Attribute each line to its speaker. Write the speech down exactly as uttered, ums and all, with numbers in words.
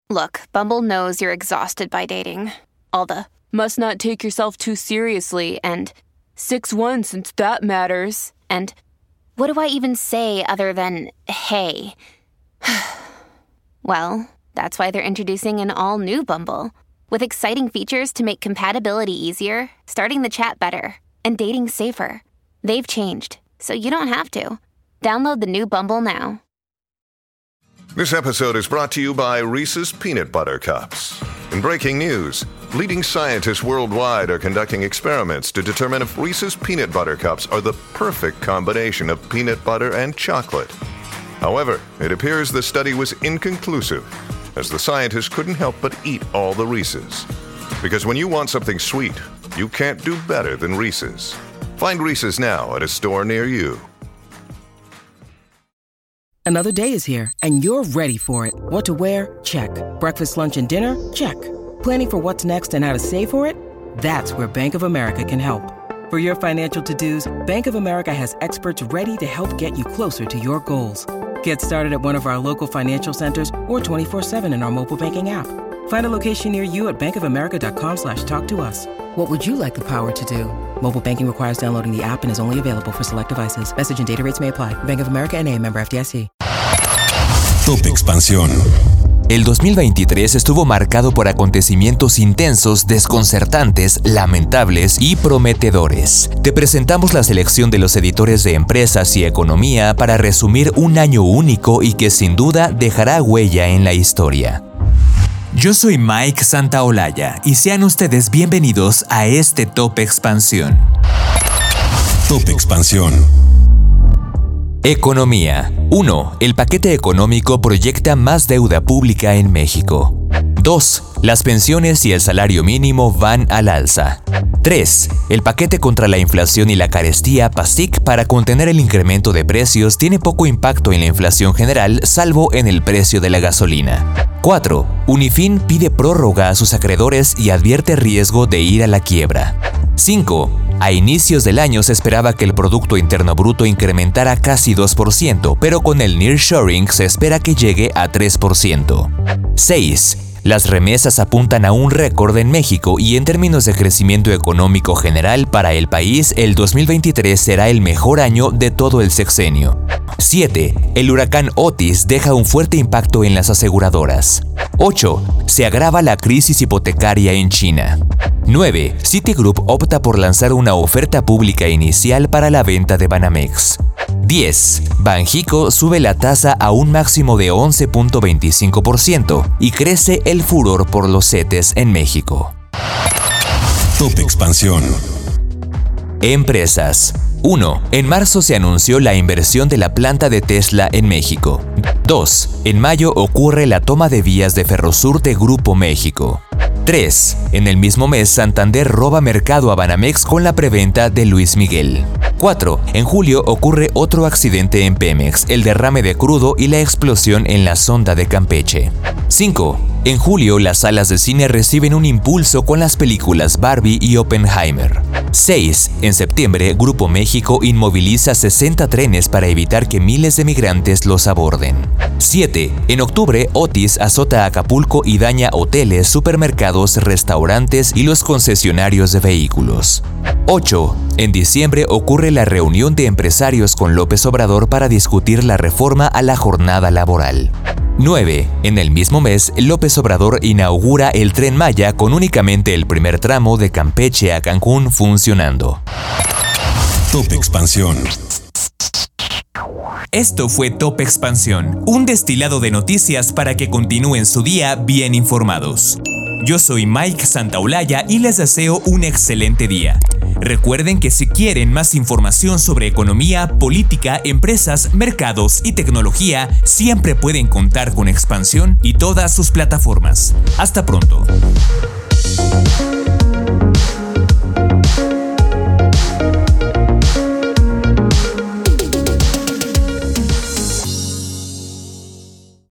Speaker 1: Look, Bumble knows you're exhausted by dating. All the, must not take yourself too seriously, and six one since that matters. And what do I even say other than, hey? Well, that's why they're introducing an all-new Bumble, with exciting features to make compatibility easier, starting the chat better, and dating safer. They've changed, so you don't have to. Download the new Bumble now.
Speaker 2: This episode is brought to you by Reese's Peanut Butter Cups. In breaking news, leading scientists worldwide are conducting experiments to determine if Reese's Peanut Butter Cups are the perfect combination of peanut butter and chocolate. However, it appears the study was inconclusive, as the scientists couldn't help but eat all the Reese's. Because when you want something sweet, you can't do better than Reese's. Find Reese's now at a store near you.
Speaker 3: Another day is here, and you're ready for it. What to wear? Check. Breakfast, lunch, and dinner? Check. Planning for what's next and how to save for it? That's where Bank of America can help. For your financial to-dos, Bank of America has experts ready to help get you closer to your goals. Get started at one of our local financial centers or twenty-four seven in our mobile banking app. Find a location near you at bankofamerica.com slash talk to us. What would you like the power to do? Mobile banking requires downloading the app and is only available for select devices. Message and data rates may apply. Bank of America N A, member F D I C.
Speaker 4: Top Expansión.
Speaker 5: El dos mil veintitrés estuvo marcado por acontecimientos intensos, desconcertantes, lamentables y prometedores. Te presentamos la selección de los editores de Empresas y Economía para resumir un año único y que sin duda dejará huella en la historia. Yo soy Mike Santaolalla y sean ustedes bienvenidos a este Top Expansión.
Speaker 4: Top Expansión.
Speaker 5: Economía. uno. El paquete económico proyecta más deuda pública en México. dos. Las pensiones y el salario mínimo van al alza. tres. El paquete contra la inflación y la carestía PASIC para contener el incremento de precios tiene poco impacto en la inflación general, salvo en el precio de la gasolina. cuatro. Unifin pide prórroga a sus acreedores y advierte riesgo de ir a la quiebra. cinco. A inicios del año se esperaba que el Producto Interno Bruto incrementara casi dos por ciento, pero con el nearshoring se espera que llegue a tres por ciento. seis. Las remesas apuntan a un récord en México y en términos de crecimiento económico general para el país, el dos mil veintitrés será el mejor año de todo el sexenio. siete. El huracán Otis deja un fuerte impacto en las aseguradoras. ocho. Se agrava la crisis hipotecaria en China. nueve. Citigroup opta por lanzar una oferta pública inicial para la venta de Banamex. diez. Banxico sube la tasa a un máximo de once punto veinticinco por ciento y crece el furor por los CETES en México.
Speaker 4: Top Expansión.
Speaker 5: Empresas. uno. En marzo se anunció la inversión de la planta de Tesla en México. dos. En mayo ocurre la toma de vías de Ferrosur de Grupo México. tres. En el mismo mes, Santander roba mercado a Banamex con la preventa de Luis Miguel. cuatro. En julio ocurre otro accidente en Pemex, el derrame de crudo y la explosión en la sonda de Campeche. cinco. En julio, las salas de cine reciben un impulso con las películas Barbie y Oppenheimer. seis. En septiembre, Grupo México inmoviliza sesenta trenes para evitar que miles de migrantes los aborden. siete. En octubre, Otis azota Acapulco y daña hoteles, supermercados, restaurantes y los concesionarios de vehículos. ocho. En diciembre ocurre la reunión de empresarios con López Obrador para discutir la reforma a la jornada laboral. nueve. En el mismo mes, López Obrador inaugura el Tren Maya con únicamente el primer tramo de Campeche a Cancún funcionando.
Speaker 4: Top Expansión.
Speaker 5: Esto fue Top Expansión, un destilado de noticias para que continúen su día bien informados. Yo soy Mike Santaolalla y les deseo un excelente día. Recuerden que si quieren más información sobre economía, política, empresas, mercados y tecnología, siempre pueden contar con Expansión y todas sus plataformas. Hasta pronto.